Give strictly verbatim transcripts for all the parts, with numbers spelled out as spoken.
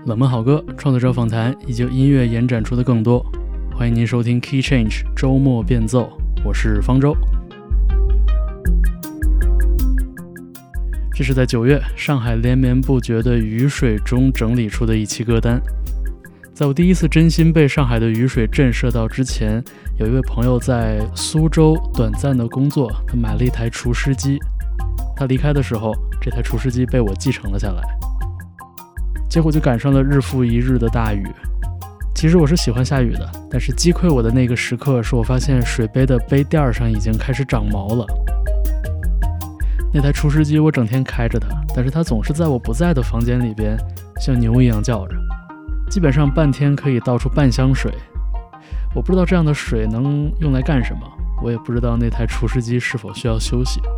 冷门好歌、创作者访谈以及音乐延展出的更多。欢迎您收听 Key Change 周末变奏，我是方舟。这是在九月上海连绵不绝的雨水中整理出的一期歌单。在我第一次真心被上海的雨水震慑到之前，有一位朋友在苏州短暂的工作，他买了一台除湿机。他离开的时候，这台除湿机被我继承了下来。结果就赶上了日复一日的大雨。其实我是喜欢下雨的，但是击溃我的那个时刻是我发现水杯的杯垫上已经开始长毛了。那台除湿机我整天开着它，但是它总是在我不在的房间里边像牛一样叫着，基本上半天可以倒出半箱水。我不知道这样的水能用来干什么，我也不知道那台除湿机是否需要休息。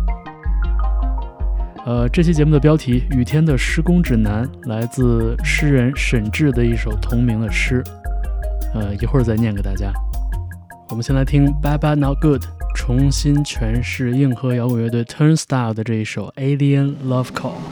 呃，这期节目的标题《雨天的施工指南》来自诗人沈志的一首同名的诗，呃，一会儿再念给大家。我们先来听 Bad Bad Not Good 重新诠释硬核摇滚乐队 Turnstile 的这一首 Alien Love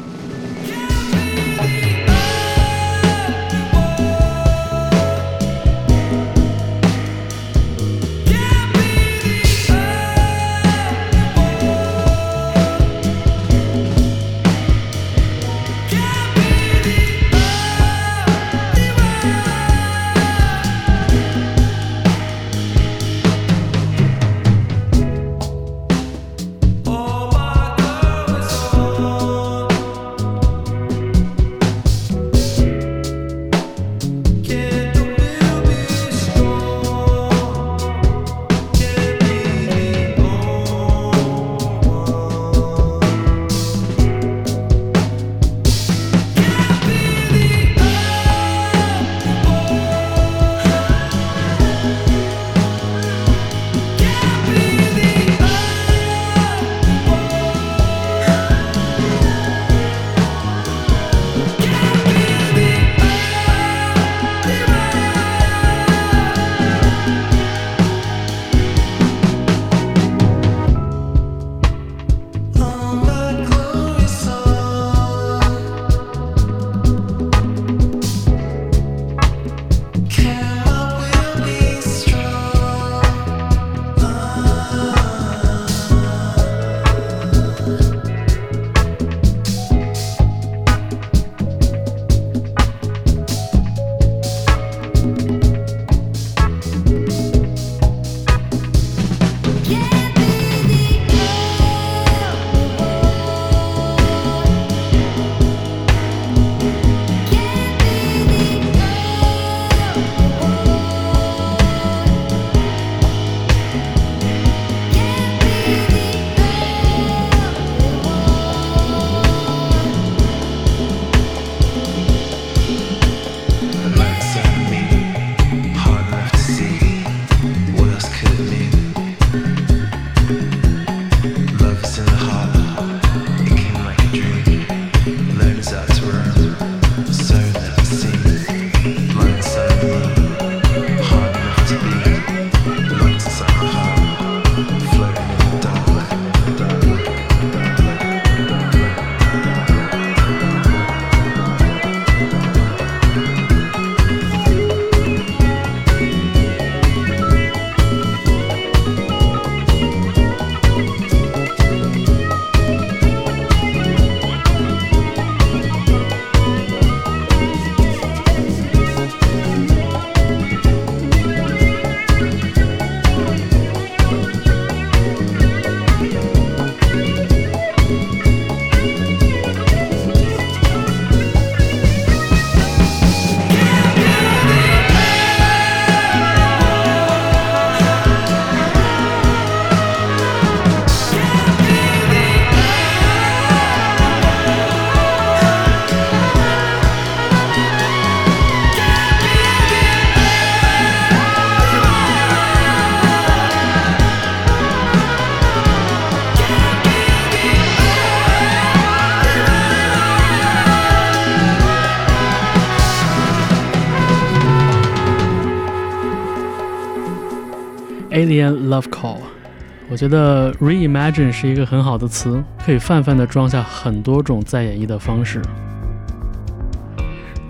Call。Alien Love Call， 我觉得 reimagine 是一个很好的词，可以泛泛地装下很多种再演绎的方式。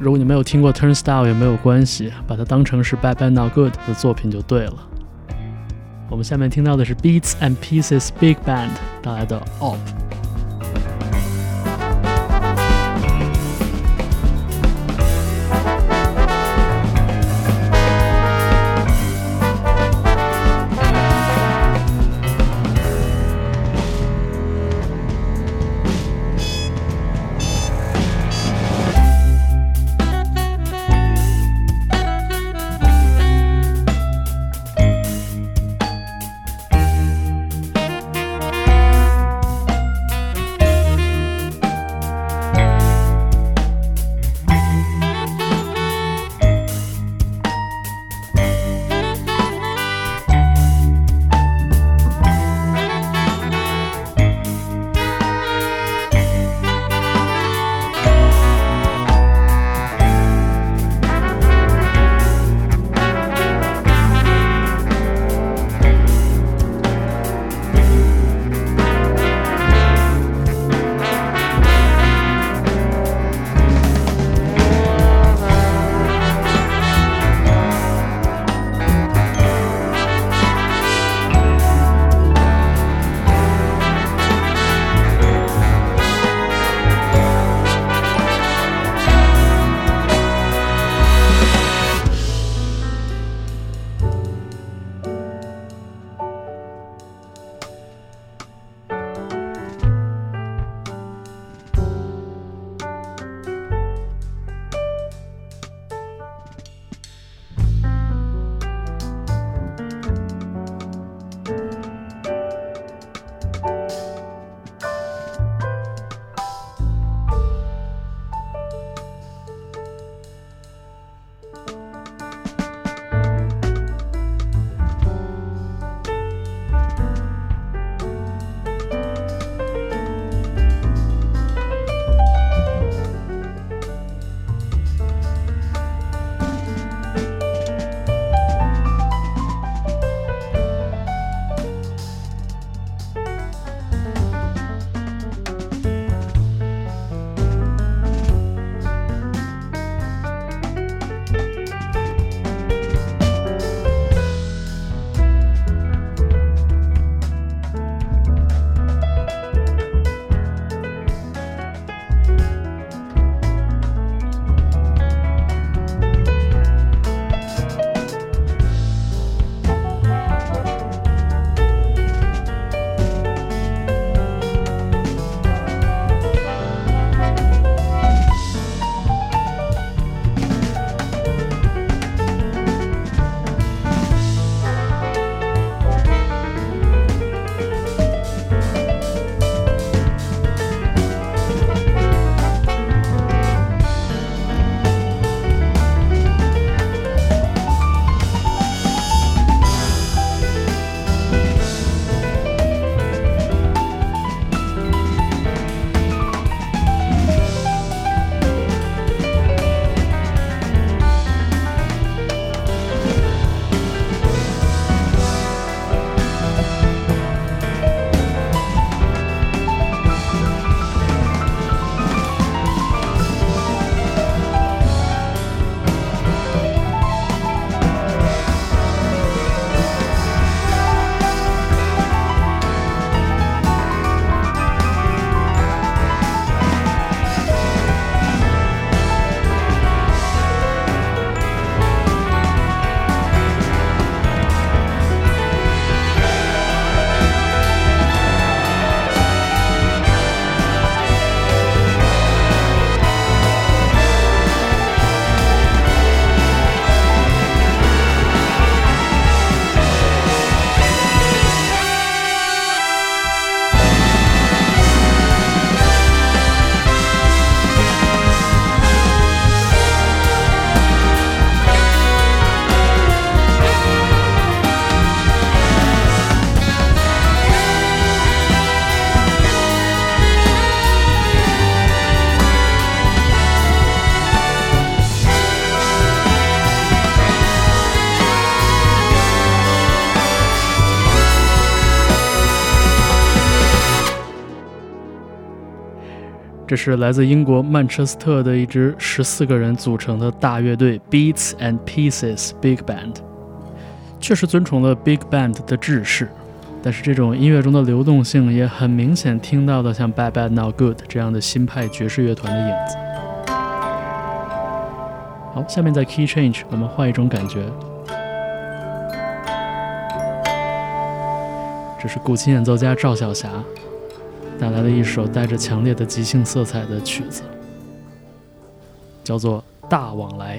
如果你没有听过 Turnstile 也没有关系，把它当成是 Bad Bad Not Good 的作品就对了。我们下面听到的是 Beats and Pieces Big Band 带来的 Op。 这是来自英国曼彻斯特的一支十四个人组成的大乐队 Beats and Pieces Big Band， 确实遵从了 Big Band 的制式，但是这种音乐中的流动性也很明显听到了像 Bad Bad Not Good 这样的新派爵士乐团的影子。好，下面在 Key Change 我们换一种感觉，这是古琴演奏家赵小霞带来了一首带着强烈的即兴色彩的曲子，叫做《大往来》。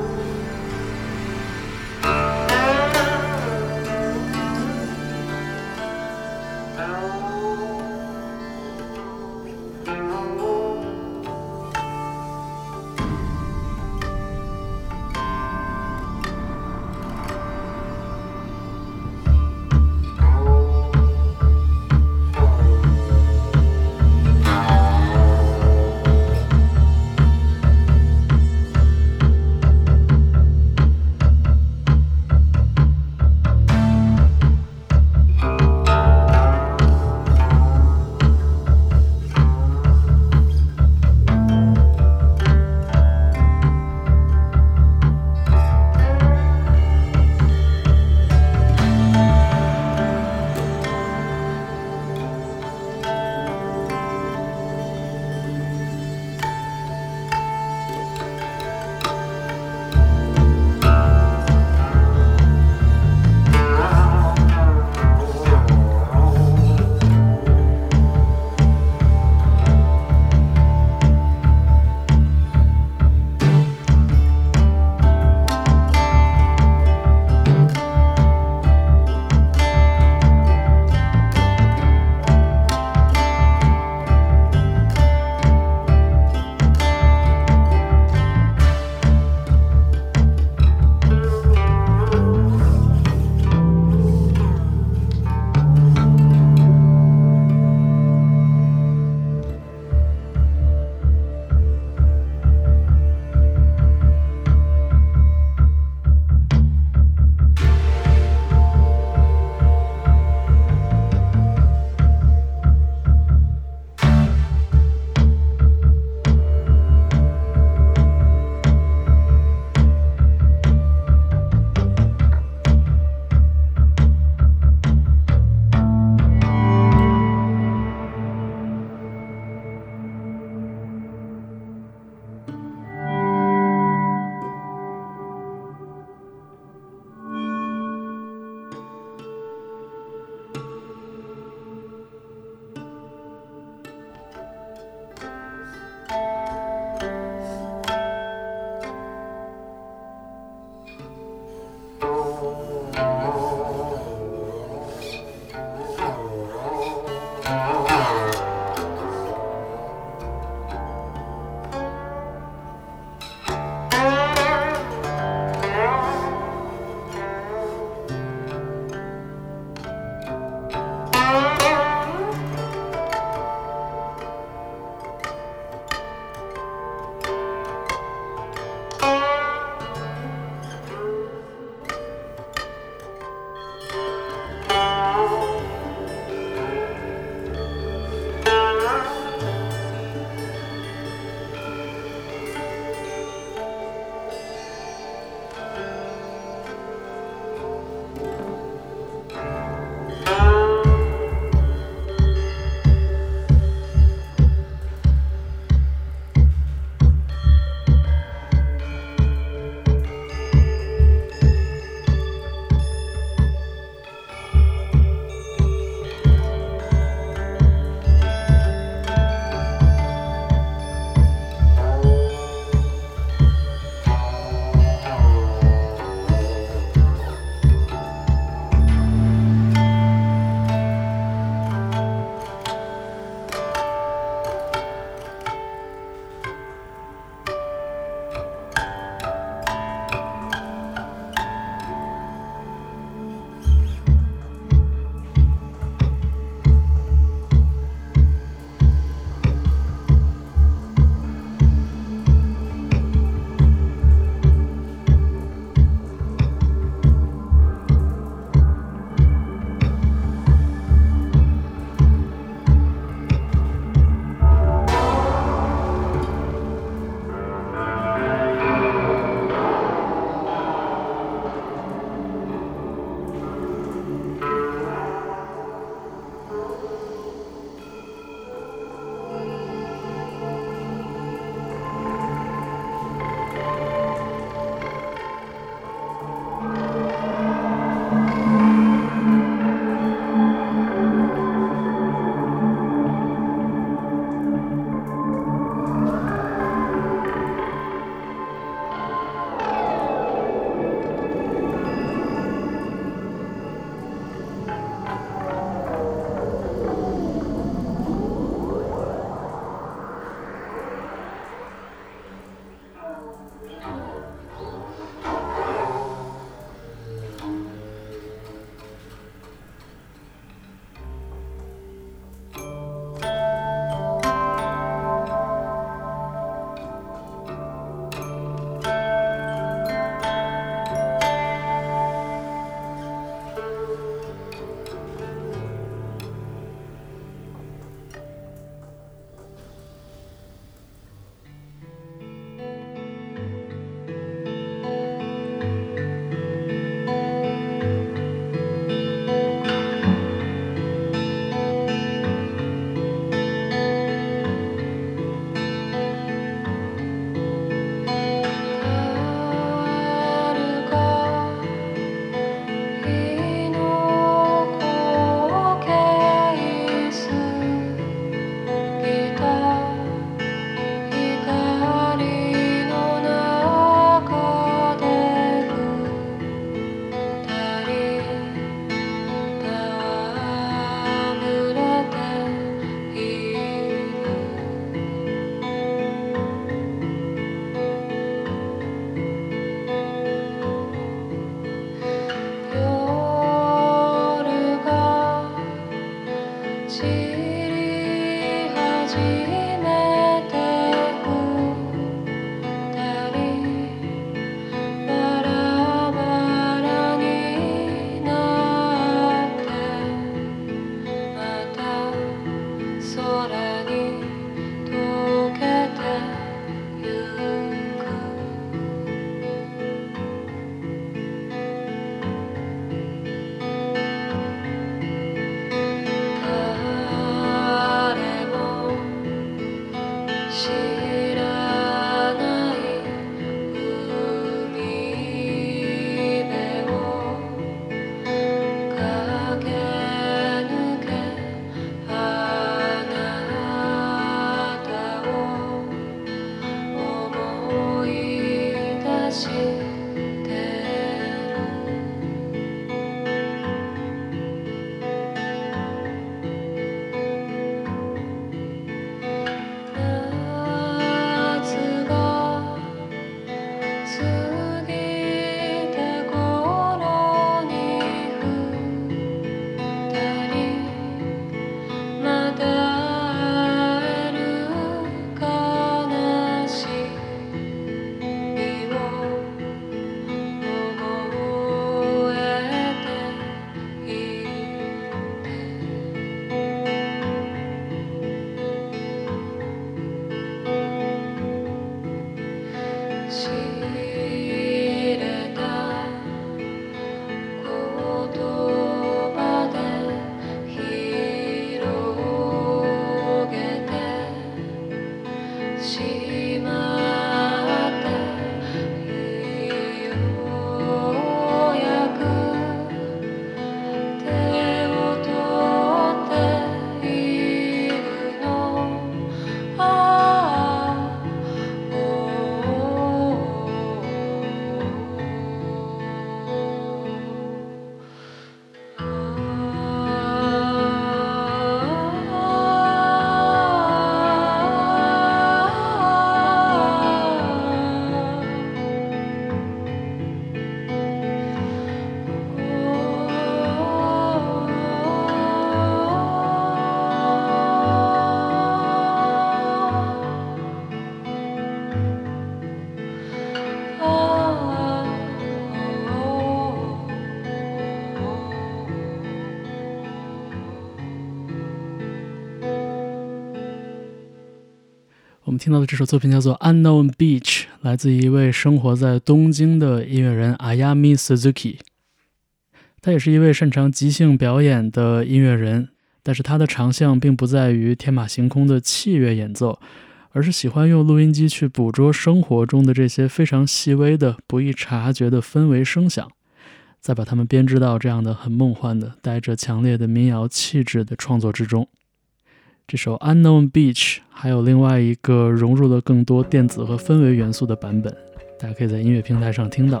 我们听到的这首作品叫做 Unknown Beach， 来自一位生活在东京的音乐人 Ayami Suzuki。 他也是一位擅长即兴表演的音乐人，但是他的长项并不在于天马行空的器乐演奏，而是喜欢用录音机去捕捉生活中的这些非常细微的不易察觉的氛围声响，再把它们编织到这样的很梦幻的带着强烈的民谣气质的创作之中。这首 Unknown Beach 还有另外一个融入了更多电子和氛围元素的版本，大家可以在音乐平台上听到。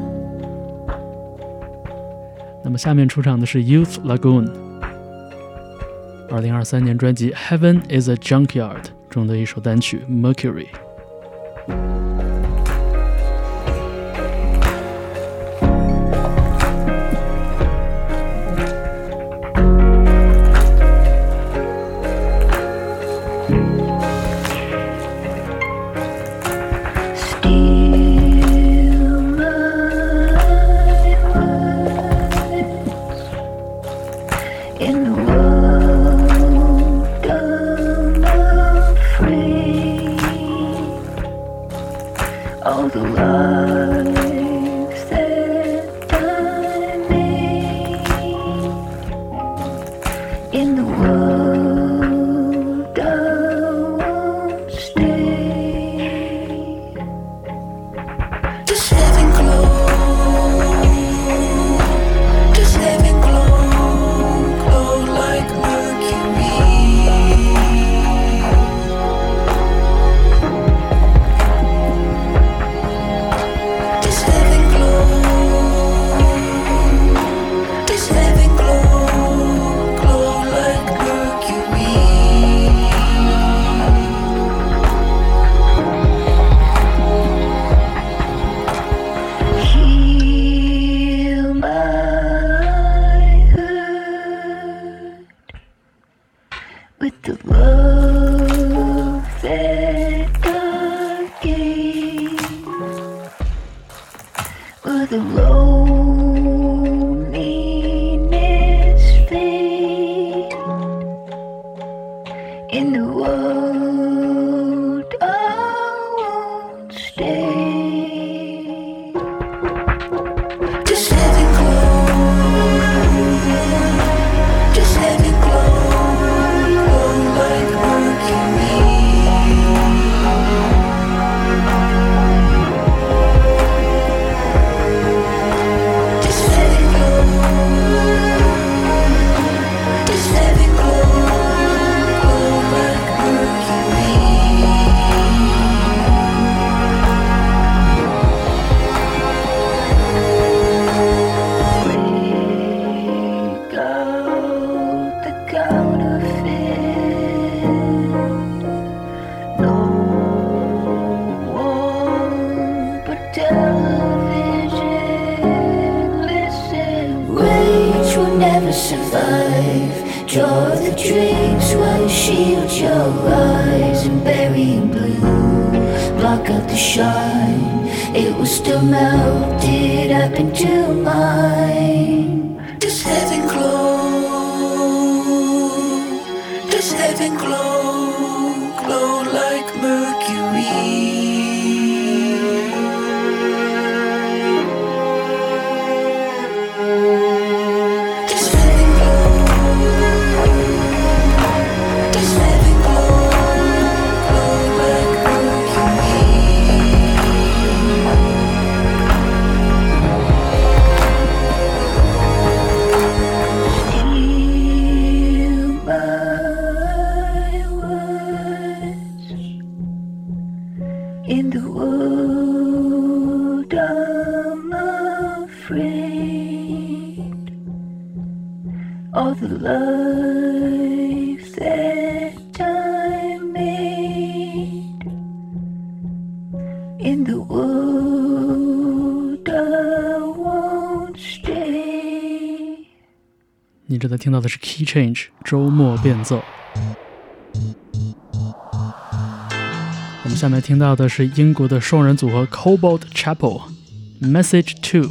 那么下面出场的是 Youth Lagoon 二零二三年专辑 Heaven is a Junkyard 中的一首单曲 Mercury。 Draw the drinks while you shield your eyes and bury in blue. Block out the shine, it was still melted up into mine. Does heaven glow? Does heaven glow? Glow like Mercury. In the world I'm afraid of the life that I made. In the world I won't stay. 你正在听到的是 Key Change 周末变奏。我们下面听到的是英国的双人组合 Cobalt Chapel Message two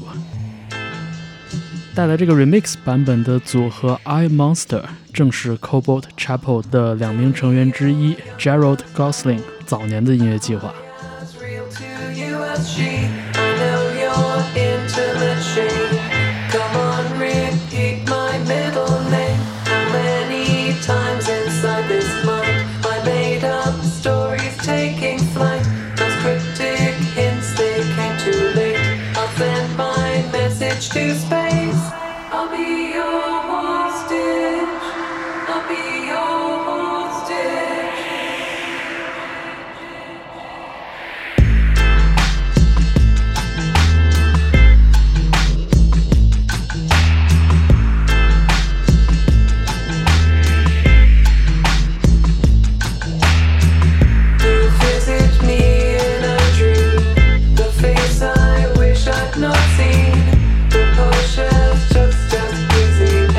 带来这个 remix 版本的组合 I Monster 正是 Cobalt Chapel 的两名成员之一 Gerald Gosling 早年的音乐计划。 To space, I'll be your hostage, I'll be your hostage. You visit me in a dream, the face I wish I'd not seen. Shelves just as busy.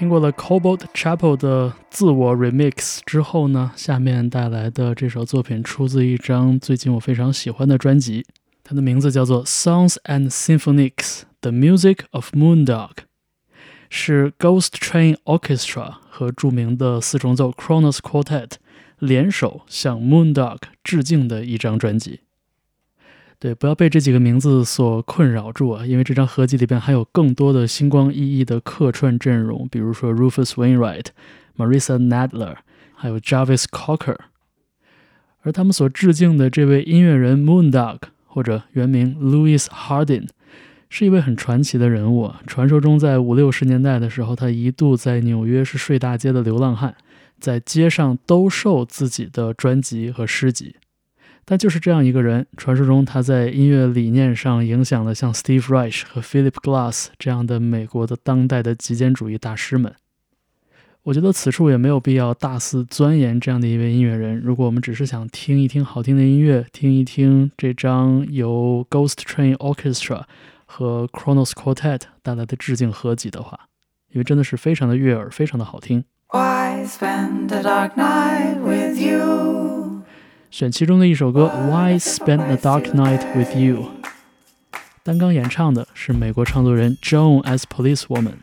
听过了 Cobalt Chapel 的自我 remix 之后呢，下面带来的这首作品出自一张最近我非常喜欢的专辑，它的名字叫做 Songs and Symphonies The Music of Moondog， 是 Ghost Train Orchestra 和著名的四重奏 Kronos Quartet 联手向 Moondog 致敬的一张专辑。对，不要被这几个名字所困扰住啊，因为这张合集里边还有更多的星光熠熠的客串阵容，比如说 Rufus Wainwright、Marissa Nadler， 还有 Jarvis Cocker。而他们所致敬的这位音乐人 Moondog， 或者原名 Louis Hardin， 是一位很传奇的人物啊。传说中在五六十年代的时候，他一度在纽约是睡大街的流浪汉，在街上兜售自己的专辑和诗集。但就是这样一个人，传说中他在音乐理念上影响了像 Steve Reich 和 Philip Glass 这样的美国的当代的极简主义大师们。我觉得此处也没有必要大肆钻研这样的一位音乐人，如果我们只是想听一听好听的音乐，听一听这张由 Ghost Train Orchestra 和 Kronos Quartet 带来的致敬合集的话，因为真的是非常的悦耳，非常的好听。 Why spend a dark night with you? 选其中的一首歌 Why Spend the Dark Night With You， 担纲演唱的是美国唱作人 Joan as Policewoman。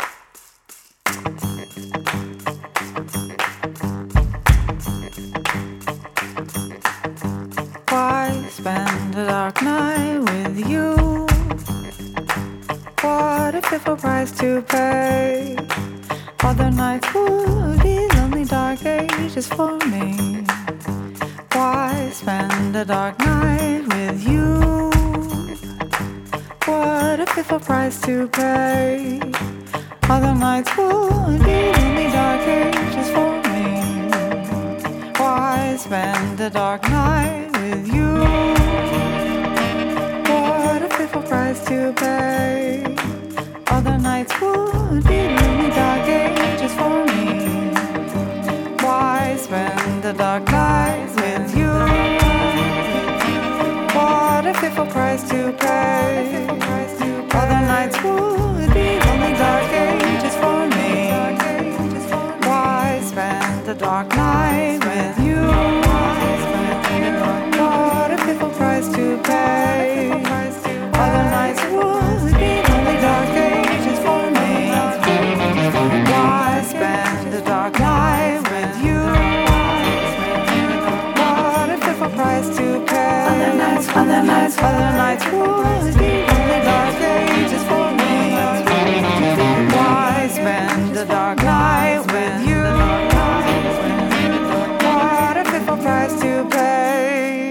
Why spend a dark night with you? What a fearful price to pay. Other nights would be lonely dark ages for me.Why spend a dark night with you? What a fearful price to pay. Other nights would be lonely dark ages for me. Why spend a dark night with you? What a fearful price to pay. Other nights would be lonely dark ages for me. Why spend a dark night with you? What a fearful price to pay. Other nights would be lonely dark ages for me. Why spend a dark night with you? What a fearful price to pay. Other nights would be lonely dark ages for me. Why spend a dark night with you?What a fearful price to pay. Other nights, other nights, other nights would be lonely dark ages for me. Why spend a dark night with you? What a fearful price to pay.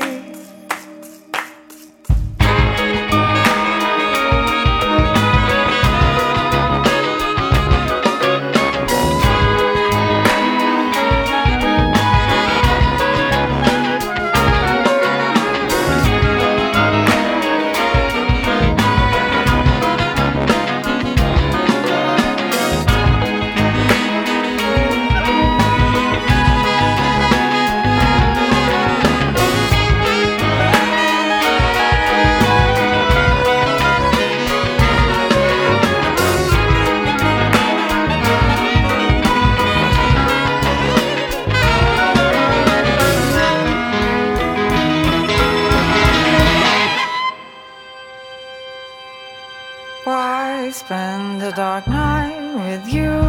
Why spend a dark night with you?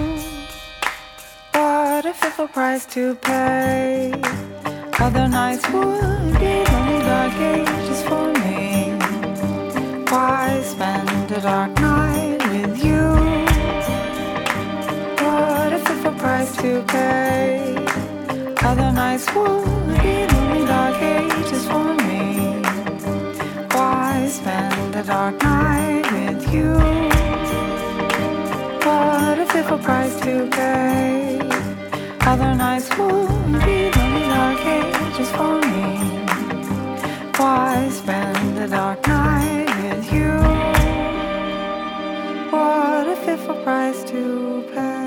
What a fearful price to pay. Other nights would be lonely dark ages for me. Why spend a dark night with you? What a fearful price to pay. Other nights would be lonely dark ages for me. Why spend a dark night with you? What a fearful price to pay. Other nights would be lonely dark ages for me. Why spend a dark night with you? What a fearful price to pay.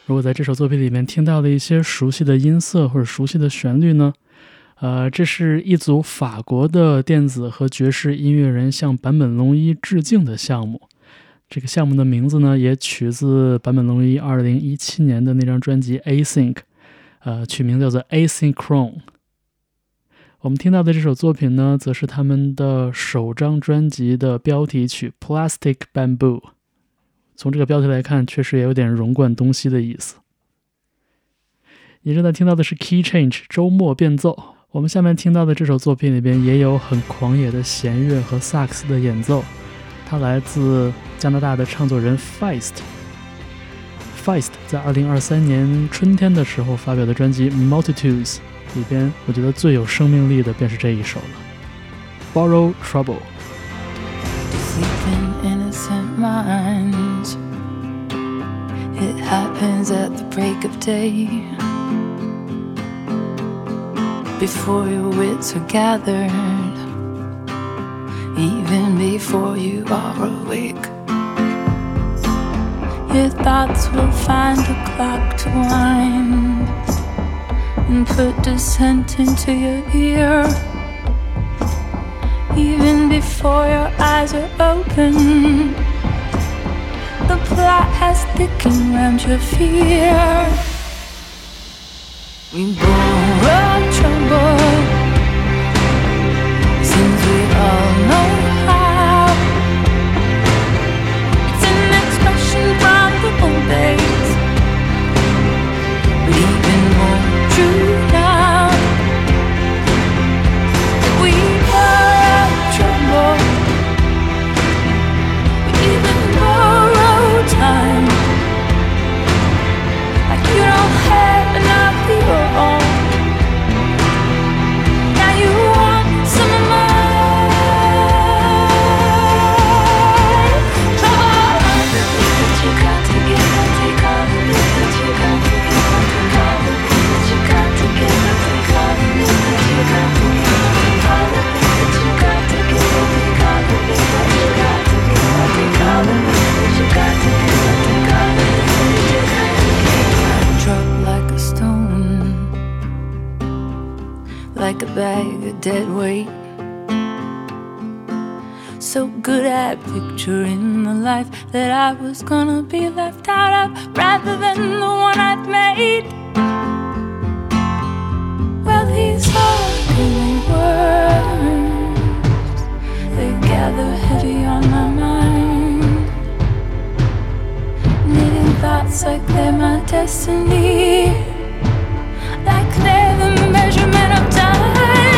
如果在这首作品里面听到了一些熟悉的音色或者熟悉的旋律呢，呃，这是一组法国的电子和爵士音乐人向坂本龙一致敬的项目。这个项目的名字呢，也取自坂本龙一二零一七年的那张专辑 Async， 呃，取名叫做 Asynchrone。我们听到的这首作品呢，则是他们的首张专辑的标题曲 Plastic Bamboo。从这个标题来看，确实也有点融贯东西的意思。你正在听到的是 Key Change 周末变奏。我们下面听到的这首作品里边也有很狂野的弦乐和萨克斯的演奏，它来自加拿大的唱作人 Feist。 Feist 在二零二三年春天的时候发表的专辑 Multitudes 里边，我觉得最有生命力的便是这一首了， Borrow Trouble。 Sleeping innocent minds, it happens at the break of day, before your wits are gathered, even before you are awake. Your thoughts will find a clock to wind and put dissent into your ear, even before your eyes are open. The plot has thickened round your fear. We borrow trouble, since we all know how. It's an expression from the old days, but even more true now. We borrow trouble, we even borrow time, like you don't have enough of your own. Now you want some of mine. Trouble, that you got to give and take all the things that you got to give and take all the things that you got to give and take all the things that you got to give and take all the things that you got to give and take all the things that you got to give and take all the things that you got to give and take all the things that you got to give. Drop like a stone, like a bag of dead weight. So good at picturing the life that I was gonna be left out of, rather than the one I'd made. Well, these ugly words, they gather heavy on my mind, knitting thoughts like they're my destiny, like they're the measurement of time.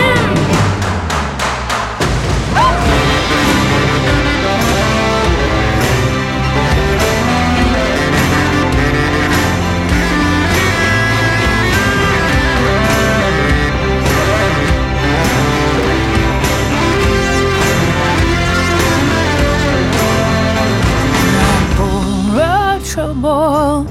Trouble,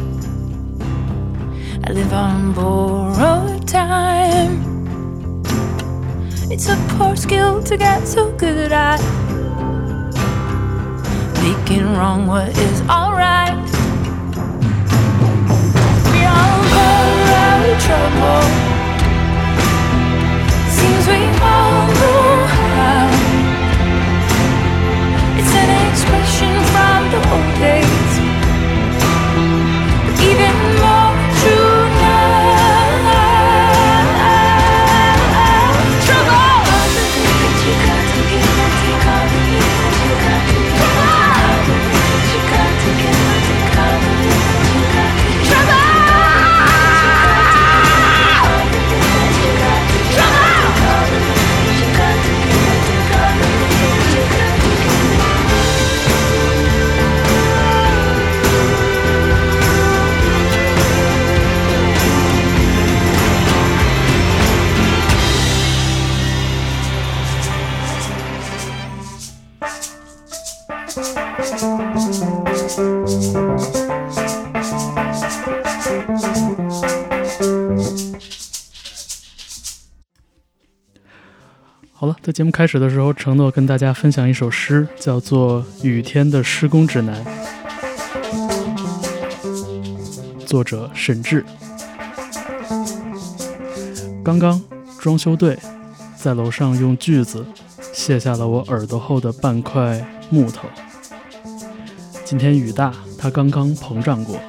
I live on borrowed time. It's a poor skill to get so good at making wrong what is alright. We all borrow trouble, seems we all know how. It's an expression from the old days, even more true now. Trouble, all the things that you got to give and take all the things that you got to give. All the things that you got to give and take all the things that you got to give. Trouble, all the things that you got to give. Trouble, all the things that you got to give and take all the things that you got to give. Thank 好了，在节目开始的时候承诺跟大家分享一首诗，叫做《雨天的施工指南》。 作者沈志。刚刚装修队在楼上用锯子卸下了我耳朵后的半块木头。今天雨大，它刚刚膨胀过，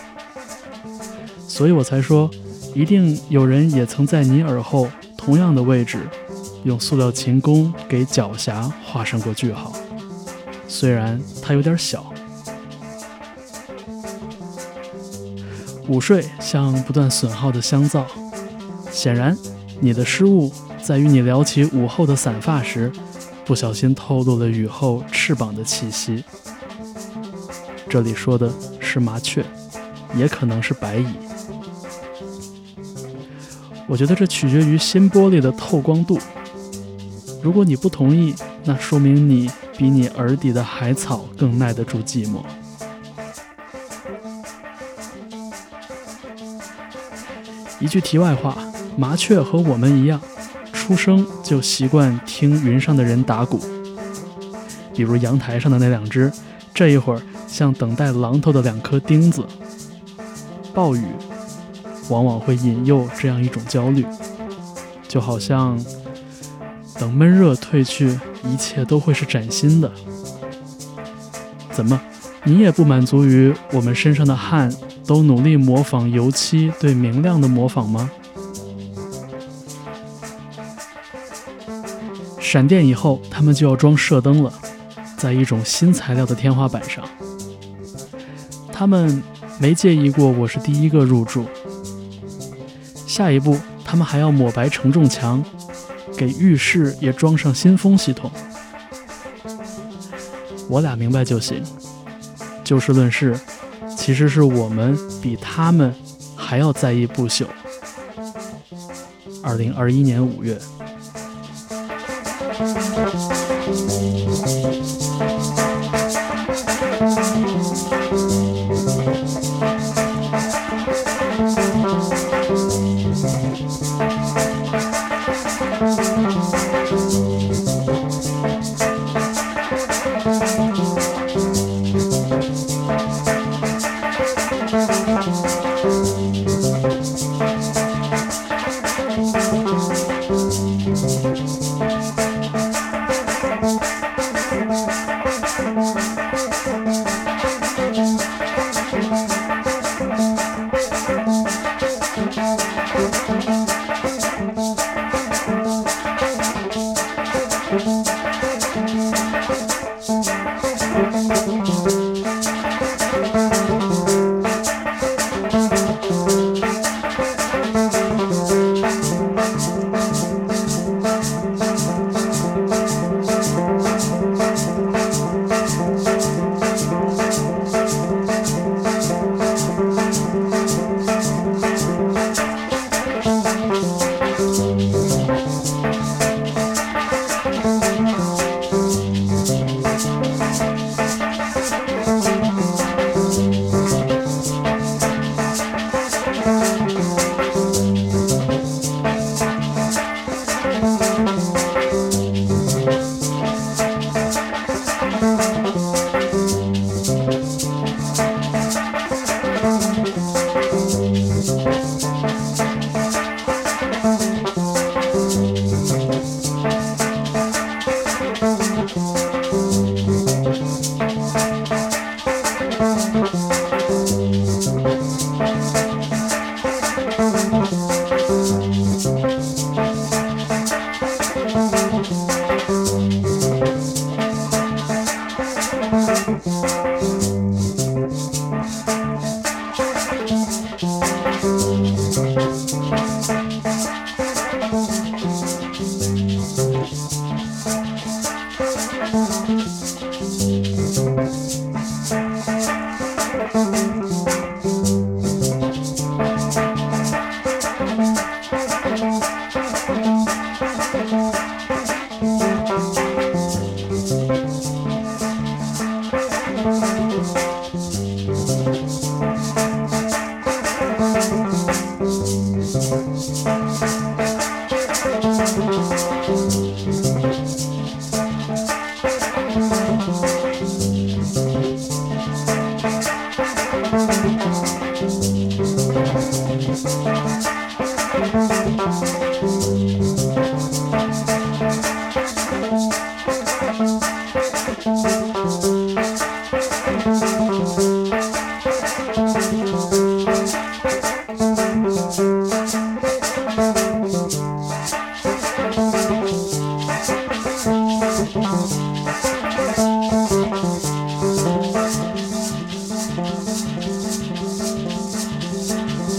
所以我才说，一定有人也曾在你耳后同样的位置，用塑料琴弓给狡黠画上过句号，虽然它有点小。午睡像不断损耗的香皂，显然你的失误在于你撩起午后的散发时，不小心透露了雨后翅膀的气息。这里说的是麻雀，也可能是白蚁。我觉得这取决于新玻璃的透光度。如果你不同意，那说明你比你耳底的海草更耐得住寂寞。一句题外话，麻雀和我们一样，出生就习惯听云上的人打鼓。比如阳台上的那两只，这一会儿像等待榔头的两颗钉子。暴雨往往会引诱这样一种焦虑，就好像等闷热退去，一切都会是崭新的。怎么，你也不满足于我们身上的汗都努力模仿油漆对明亮的模仿吗？闪电以后，他们就要装射灯了，在一种新材料的天花板上。他们没介意过我是第一个入住。下一步，他们还要抹白承重墙，给浴室也装上新风系统。我俩明白就行。就事论事，其实是我们比他们还要在意不朽。二零二一年五月。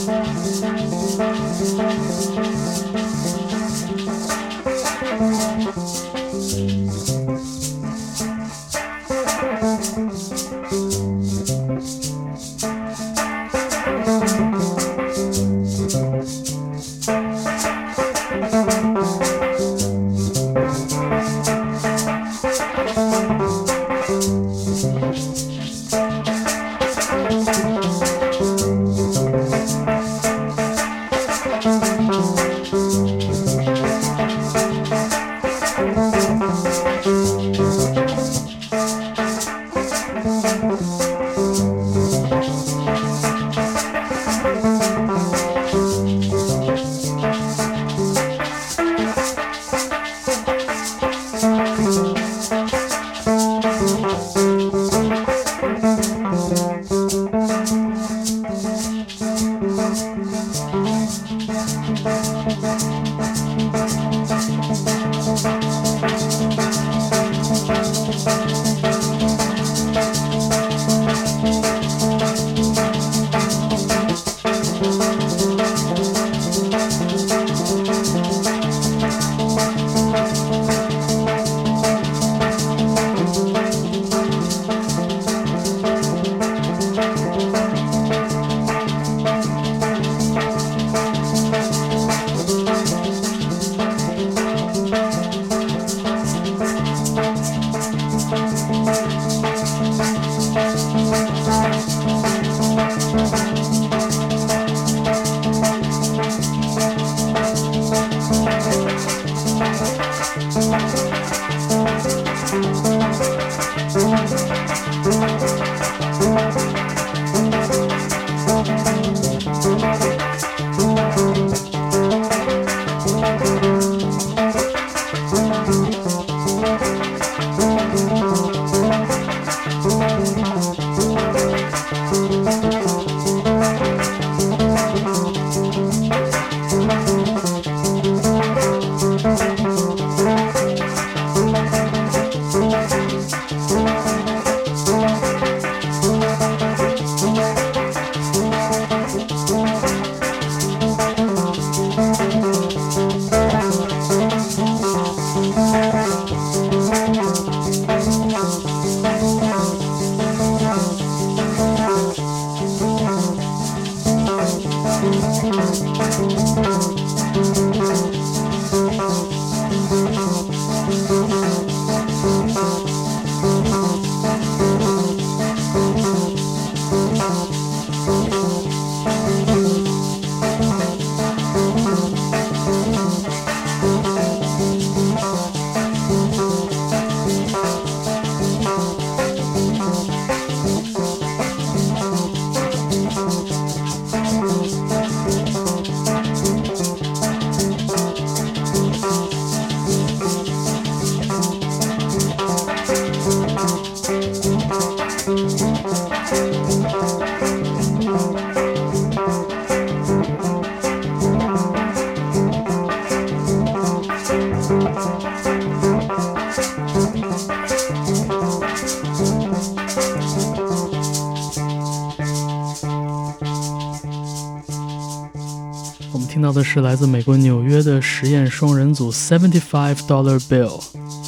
听到的是来自美国纽约的实验双人组 seventy-five dollar bill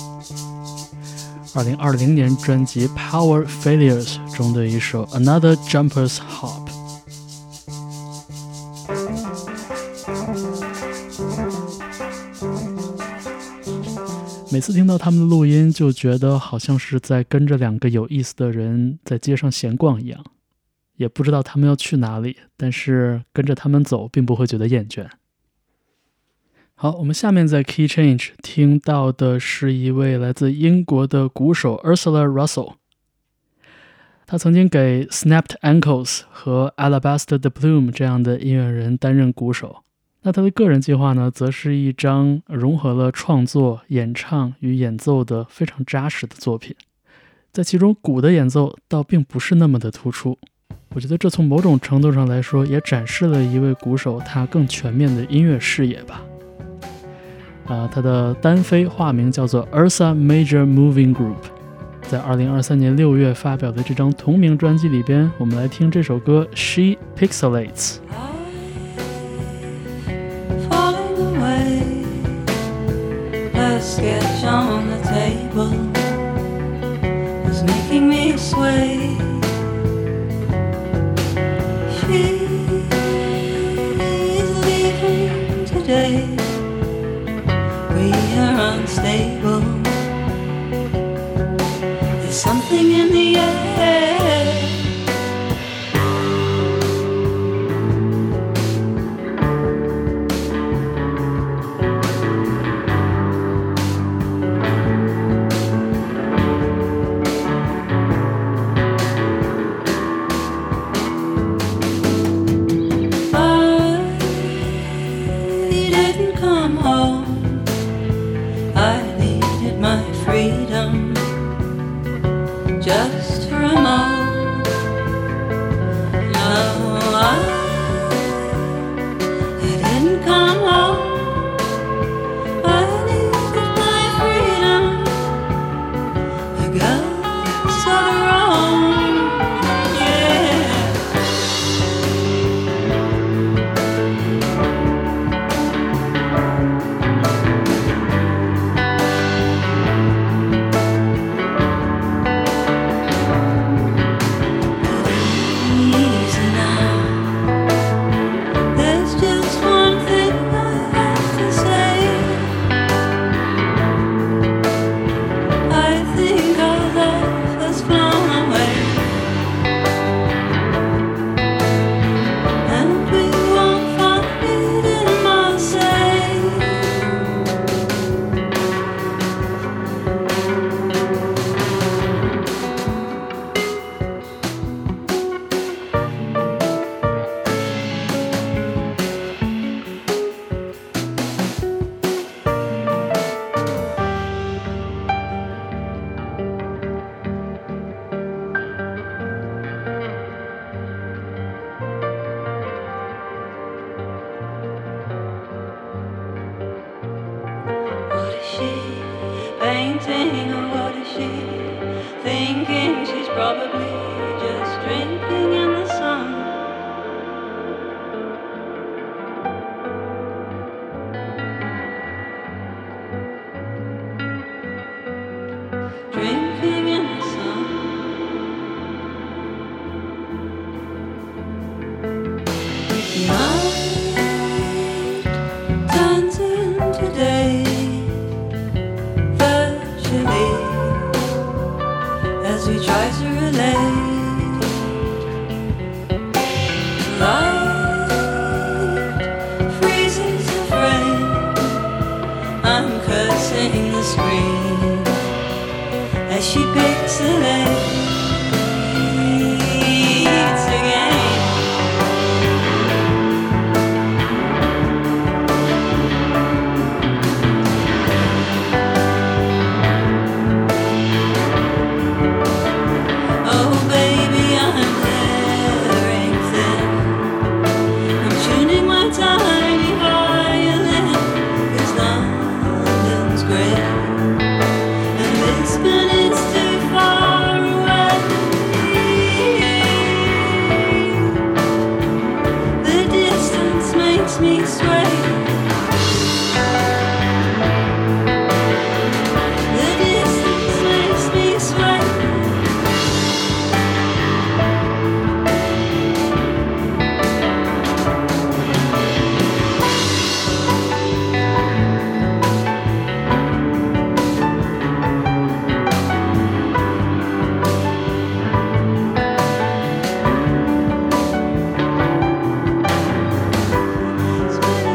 二零二零年专辑 Power Failures 中的一首 Another Jumper's Hop。 每次听到他们的录音就觉得好像是在跟着两个有意思的人在街上闲逛一样，也不知道他们要去哪里，但是跟着他们走并不会觉得厌倦。好，我们下面在 Key Change 听到的是一位来自英国的鼓手 Ursula Russell。 他曾经给 Snapped Ankles 和 Alabaster the Plume 这样的音乐人担任鼓手。那他的个人计划呢，则是一张融合了创作、演唱与演奏的非常扎实的作品，在其中鼓的演奏倒并不是那么的突出。我觉得这从某种程度上来说也展示了一位鼓手他更全面的音乐视野吧。呃、他的单飞化名叫做 Ursa Major Moving Group， 在二零二三年六月发表的这张同名专辑里边，我们来听这首歌 She Pixelates。 table was making me sway. She's leaving today. We are unstable. There's something in the air. Just for a moment. No, I, I didn't come home. I needed my freedom. A ghost of her own. Yeah. What is she painting, or what is she thinking? She's probably just drinking in the sun. Drinking in the sun. Night turns into day. As we try to relate, light freezes the frame. I'm cursing the screen as she pixelates again. Tiny violin, 'cause London's great, and Lisbon is too far away. The distance makes me sway. The distance makes me sway. It's been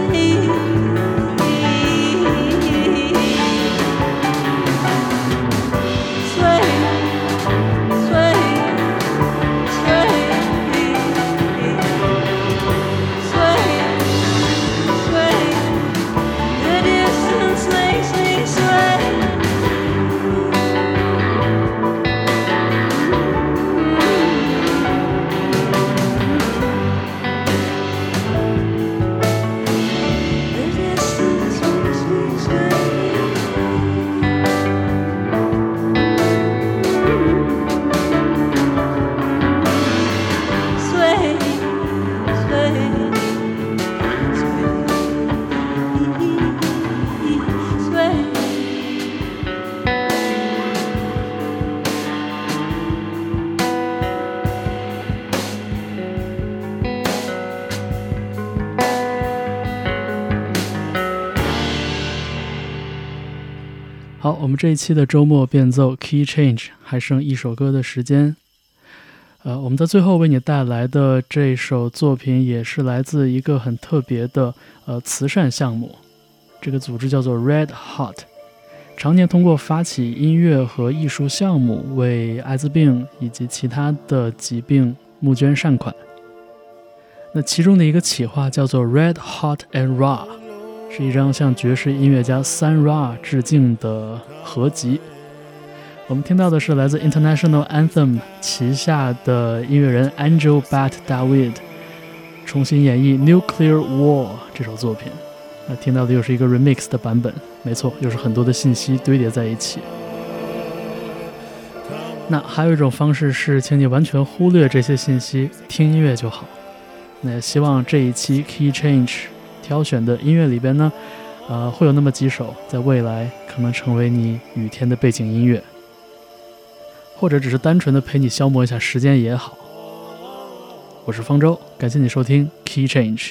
好，我们这一期的周末变奏 Key Change 还剩一首歌的时间。呃，我们在最后为你带来的这首作品也是来自一个很特别的呃慈善项目，这个组织叫做 Red Hot， 常年通过发起音乐和艺术项目为艾滋病以及其他的疾病募捐善款。那其中的一个企划叫做 Red Hot and Raw， 是一张向爵士音乐家 Sun Ra 致敬的合集。我们听到的是来自 International Anthem 旗下的音乐人 Angel Bat Dawid 重新演绎 Nuclear War 这首作品。那听到的又是一个 remix 的版本，没错，又是很多的信息堆叠在一起。那还有一种方式是请你完全忽略这些信息，听音乐就好。那也希望这一期 Key Change 挑选的音乐里边呢，呃，会有那么几首在未来可能成为你雨天的背景音乐，或者只是单纯的陪你消磨一下时间也好。我是方舟，感谢你收听 Key Change。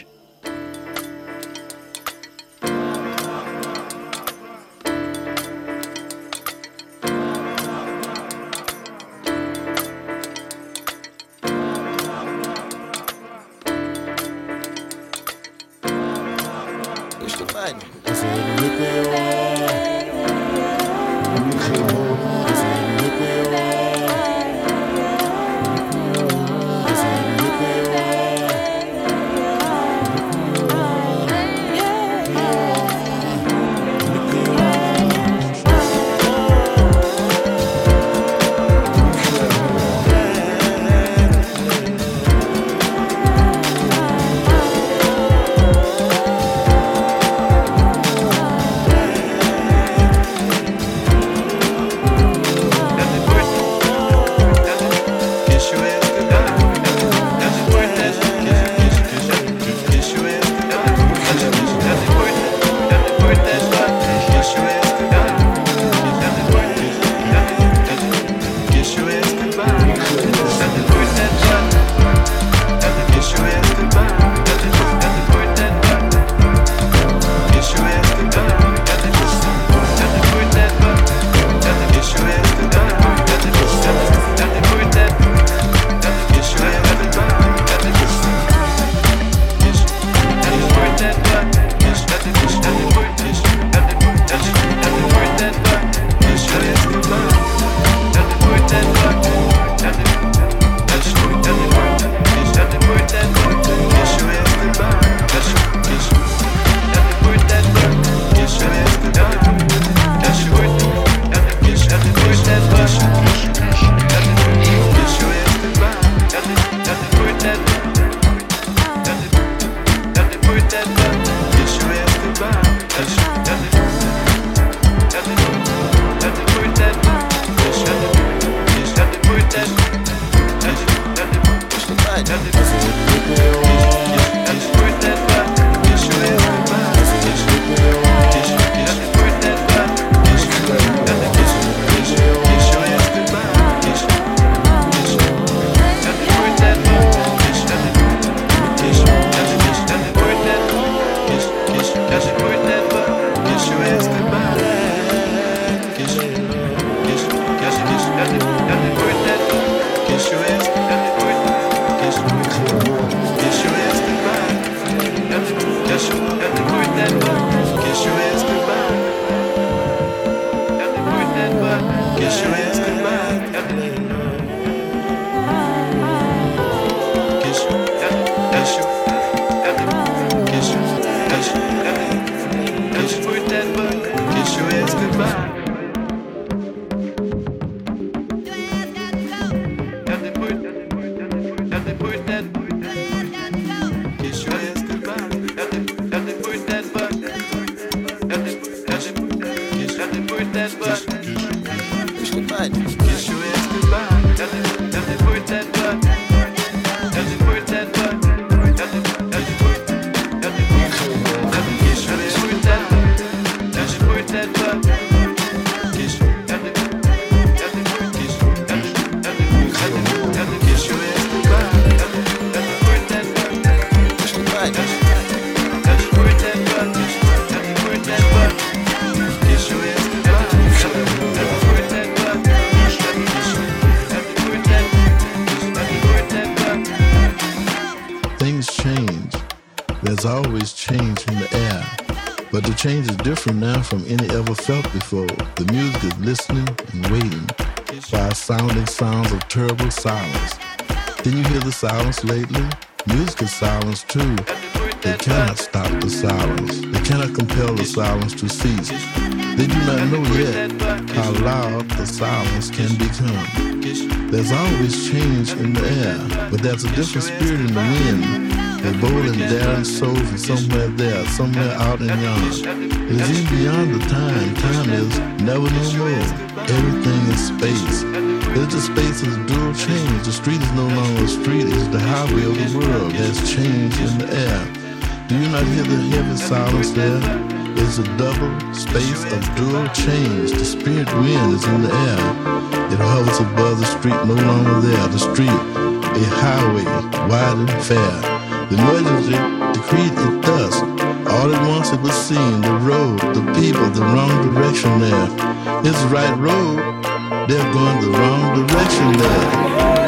There's always change in the air, but the change is different now from any ever felt before. The music is listening and waiting for sounding sounds of terrible silence. Didn't you hear the silence lately? Music is silence too. They cannot stop the silence. They cannot compel the silence to cease. They do not know yet how loud the silence can become. There's always change in the air, but there's a different spirit in the wind. They're bold and daring souls are somewhere there, somewhere out in yonder. It is even beyond the time. Time is never no more. Everything is space. There's the space of dual change. The street is no longer a street, it's the highway of the world. There's change in the air. Do you not hear the heavy silence there? It's a double space of dual change. The spirit wind is in the air. It hovers above the street, no longer there. The street, a highway, wide and fair. The emergency decreed it thus. All at once it was seen, the road, the people, the wrong direction there. It's the right road, they're going the wrong direction there.